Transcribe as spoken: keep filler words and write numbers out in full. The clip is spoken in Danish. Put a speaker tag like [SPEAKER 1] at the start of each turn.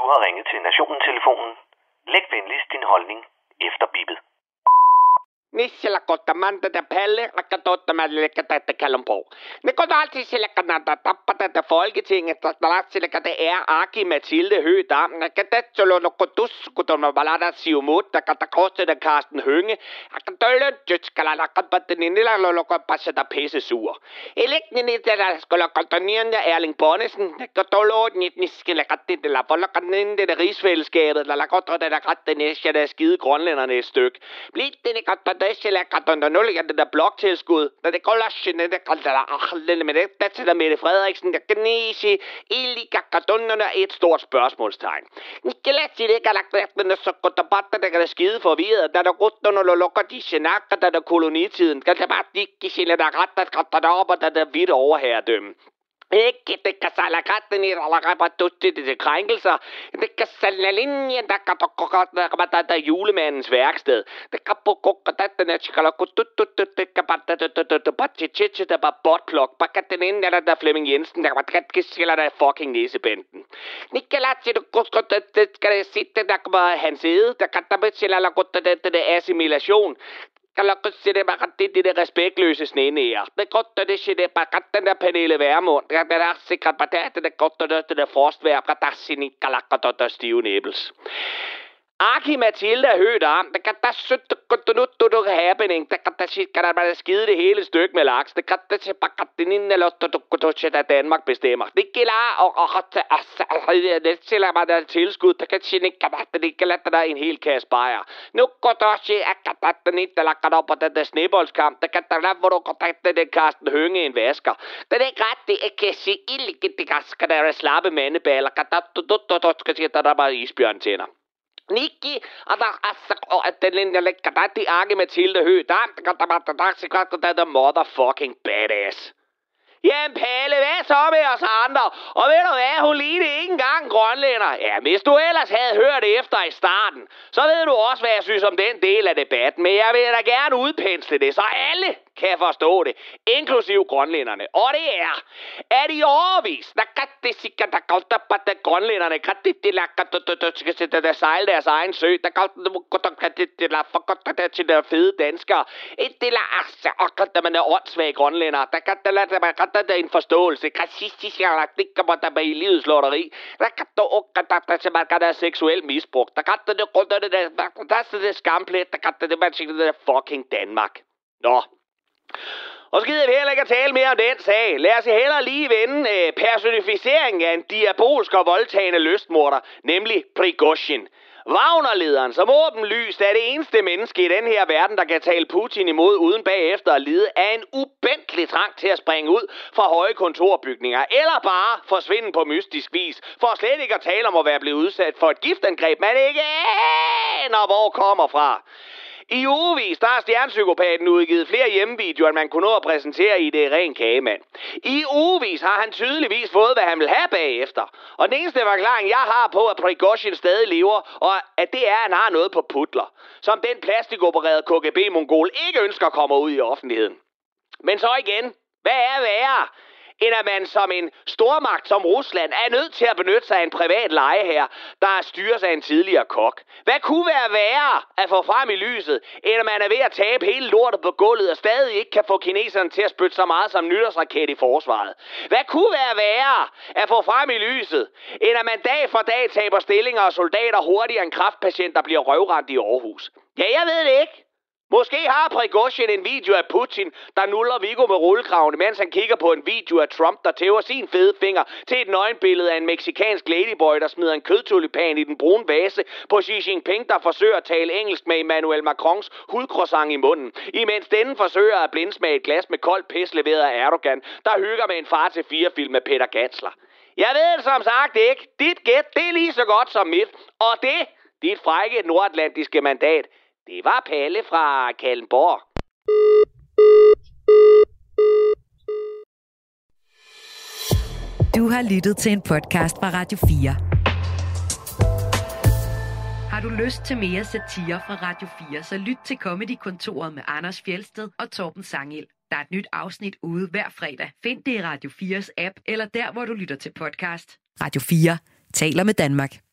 [SPEAKER 1] har ringet til Nationen-telefonen. Læg venligst din holdning efter bippet.
[SPEAKER 2] Nisillä kottamaan tätä pelle, vaikka tottamaan tätä Kalundborg. Ne går altid sillä kannata tappa tätä Folketinget, että sillä det er Aki Mathilde Høgh Dam. Kan det så lukko tus, kun on valada siumut, der kan der koste der Carsten Hønge. Kan døllen jytskala lakka patten i nilla lukko passe der pisse sur. Elekten i der skulle kontonien der Erling Bonnesen, kan døllo nit niskele katte det la volla kan ind det rigsfællesskabet, der lakko der der katte næste der skide grønlænderne et stykke. Bliv det kan det sillä katten nul ja det der bloktilskud, der det går lasse det kan der ahle med det der til Mette Frederiksen der gnise illiga kattonnerne et stort spørgsmålstegn. Ikke lad sig det galaktererne så godt der batter der kan skide forvirret, der der godt når lukker de snakker der der kolonitiden, kan der bare ikke sille der ret der der op og der der vidt overherredømme. Ikke det kan sælge katten i eller rabattutti det krænkelser. Det kan sælge linjen, der kan der der der julemandens værksted. Det kan på kokke der der chikala kututut det kan bare der der bare chichi der bare botplok. Bare kan den ind der der Flemming Jensen der bare kan skille der fucking næsebænden. Nikolas det godt det skal sitte der bare hans side. Der kan der bestille la godt det det assimilation. Kan lukke sig det bare det det der respektløse snenæger. Det godt det shit det bare den der Pernille Vermund. Der der sikkert bare det det godt det det frostvær der sin kalakker der stive næbels. Aki Mathilde Høgh Dam, der kan der søtte godt nu du happening. Der kan der shit kan der bare skide det hele stykke med laks. Det kan der se bare den ind eller du du der Danmark bestemmer. Det gælder og og det sælger bare der tilskud. Der kan sin ikke kan det kan lade der en hel kasse bajer. Nu går der også at der den ikke der kan op på den der sneboldskamp. Der kan der lade hvor du går der den Carsten Hønge en vasker. Det er ikke ret det er kan se illige det skal der slappe mandeballer. Kan der du du du skal se der der bare isbjørn tænder. Niki, og der er så at den lille lækker der de Aki Mathilde Høgh Dam, der kan der bare der sikkert der der motherfucking badass. Jamen Palle, hvad så med os andre? Og ved du hvad, hun lignede ikke engang grønlænder. Ja, hvis du ellers havde hørt efter i starten, så ved du også, hvad jeg synes om den del af debatten. Men jeg vil da gerne udpensle det, så alle kan forstå det, inklusiv grønlænderne. Og det er, at i overvis, der kan det sikkert, der kan der bare grønlænderne, kan det det der der sejle deres egen sø, der kan det det der for godt der til der fede danskere. Et det der altså, og kan man er åndssvage grønlændere, der kan der der der der en forståelse, racistisk, der kan man der i livets lotteri, der kan der og der der kan der seksuel misbrug, der kan der det rundt der der der det skamplet, der kan det man siger det der fucking Danmark. Nå. Og så gider vi heller ikke at tale mere om den sag. Lad os hellere lige vende øh, personificeringen af en diabolsk og voldtagende lystmorder, nemlig Prigozhin. Wagner-lederen, som åbenlyst er det eneste menneske i den her verden, der kan tale Putin imod uden bagefter at lide, er en ubæntelig trang til at springe ud fra høje kontorbygninger, eller bare forsvinde på mystisk vis, for slet ikke at tale om at være blevet udsat for et giftangreb, man ikke aner hvor kommer fra. I ugevis, der har stjernepsykopaten udgivet flere hjemmevideoer, end man kunne nå at præsentere i det ren kagemand. I ugevis har han tydeligvis fået, hvad han vil have bagefter. Og den eneste forklaring, jeg har på, at Prigozhin stadig lever, og at det er, at han har noget på putler, som den plastikopererede K G B-mongol ikke ønsker at komme ud i offentligheden. Men så igen, hvad er værre, end at man som en stormagt som Rusland er nødt til at benytte sig af en privat lejeherre, der styres af en tidligere kok? Hvad kunne være værre at få frem i lyset, end at man er ved at tabe hele lortet på gulvet og stadig ikke kan få kineserne til at spytte så meget som nytårsraket i forsvaret? Hvad kunne være værre at få frem i lyset, end at man dag for dag taber stillinger og soldater hurtigere end kræftpatienter bliver røvrendt i Aarhus? Ja, jeg ved det ikke. Måske har Prigozhin en video af Putin, der nuller Viggo med rullegravene, mens han kigger på en video af Trump, der tæver sin fede finger til et nøgenbillede af en meksikansk ladyboy, der smider en kødtulipan i den brune vase på Xi Jinping, der forsøger at tale engelsk med Emmanuel Macrons hudcroissant i munden, imens denne forsøger at blindsmage et glas med koldt pis leveret af Erdogan, der hygger med en far til fire film med Peter Gansler. Jeg ved det som sagt ikke. Dit gæt, det er lige så godt som mit. Og det, dit frække nordatlantiske mandat, det var Palle fra Kalundborg.
[SPEAKER 3] Du har lyttet til en podcast fra Radio fire. Har du lyst til mere satire fra Radio fire, så lyt til Comedy-kontoret med Anders Fjeldsted og Torben Sangel. Der er et nyt afsnit ude hver fredag. Find det i Radio fires app, eller der, hvor du lytter til podcast. Radio fire taler med Danmark.